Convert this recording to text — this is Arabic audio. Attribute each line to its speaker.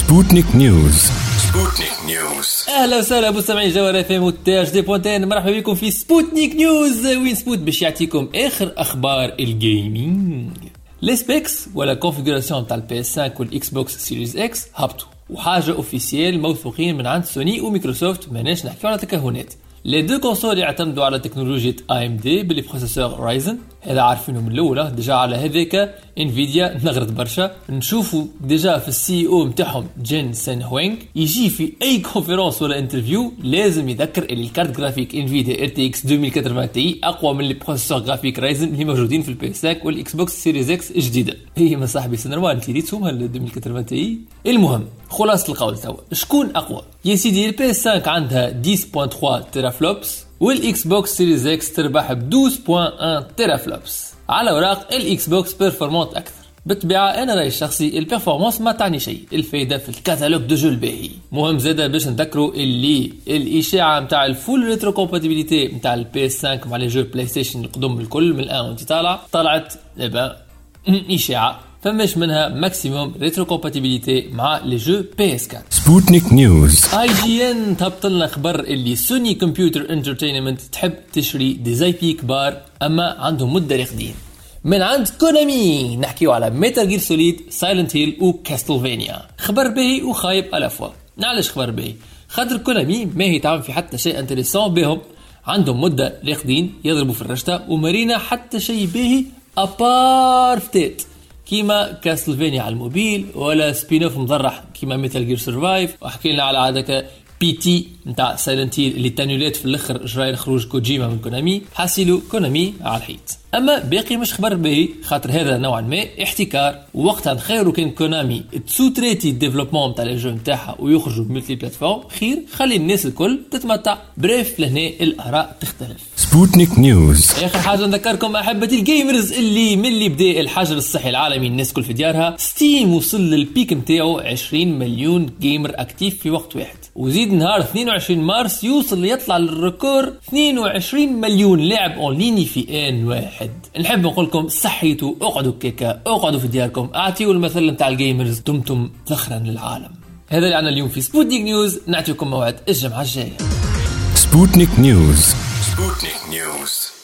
Speaker 1: سبوتنيك نيوز. اهلا وسهلا مستمعي جوهر اف ام والتاج دي بوانتين، مرحبا بكم في سبوتنيك نيوز، وين سبوت باش يعطيكم اخر اخبار الجيمنج. لي سبيكس ولا كونفيغوراسيون تاع البي اس 5 والاكس بوكس سيريز اكس هبطوا، وحاجه اوفيسيال موثوقين من عند سوني ومايكروسوفت، ماناش نحكيو على تكهنات. لي دو كونسول يعتمدوا على تكنولوجيا اي ام دي باللي بروسيسور رايزن، هذا عارفينه من الاولى ديجا. على هذاك انفيديا نغرد برشا، نشوفوا ديجا في السي او نتاعهم جين سين هوينغ يجي في اي كونفرنس ولا انترفيو لازم يذكر اللي الكارت جرافيك انفيديا ار تي اكس 2080 تي اقوى من البروسيسور جرافيك رايزن اللي موجودين في البي اس 5 والاكس بوكس سيريز اكس الجديده. هي ما صاحبي سنروان انت ريتهم ال 2080 تي. المهم خلاصه القول توا شكون اقوى؟ يا سيدي البي اس 5 عندها 10.3 تيرا فلوبس، والاكس بوكس سيريز اكس تربح ب 12.1 تيرا فلوبس. على اوراق الاكس بوكس بيرفورمانت اكثر. بالطبيعه انا رايي الشخصي البيرفورمانس ما تعني شيء، الفايده في الكاتالوج دو جو الباهي. مهم زاده باش نذكروا اللي الاشاعه نتاع الفول ريترو كومباتيبيليتي نتاع البي اس 5 مع لي جو بلاي ستيشن القدم الكل من الان وانت طلعت اشاعه، فماش منها ماكسيموم ريترو كومباتيبيليتي مع لي جو بي اس 4. سبوتنيك نيوز. اي جي ان تهبط لنا خبر اللي سوني كمبيوتر انترتينمنت تحب تشري دي زي بي كبار، اما عندهم مده راقدين. من عند كونامي نحكيو على ميتال جير سوليد، سايلنت هيل وكاستلفانيا. خبر باهي وخايب على فوا. علاش خبر باهي؟ خاطر كونامي ما هي تعمل في حتى شيء انتريسون بهم، عندهم مده راقدين يضربوا في الرشته ومارينا حتى شيء باهي ابار فتات كيما كاستلفانيا على الموبيل، ولا سبين اوف مضرح كيما ميتال جير سرفايف. وحكي لنا على هذاك بي تي نتاع سايلنت هيل اللي تانيولات في الاخر جراين خروج كوجيما من كونامي، حاسيلو كونامي على الحيط. اما باقي مش خبر باهي، خاطر هذا نوعا ما احتكار، ووقتها نخيروا كان كونامي تسوتريتي الديفلوبمون تاع لي جو نتاعها ويخرجوا ملتي بلاتفورم خير، خلي الناس الكل تتمتع. بريف لهنا الاراء تختلف. سبوتنيك نيوز. اخر حاجه نذكركم احبتي الجيمرز اللي من اللي بدا الحجر الصحي العالمي الناس كل في ديارها، ستيم وصل للبيك نتاعو 20 مليون جيمر اكتيف في وقت واحد، وزيد نهار 22 مارس يوصل يطلع للريكور 22 مليون لاعب اونلاين في ان واحد. نحب نقول لكم صحيتوا، اقعدوا كيكا، اقعدوا في دياركم، اعطيوا المثل نتاع الجيمرز، دمتم ذخرا للعالم. هذا اللي عنا اليوم في سبوتنيك نيوز، نعطيكم موعد الجمعه الجايه. سبوتنيك نيوز.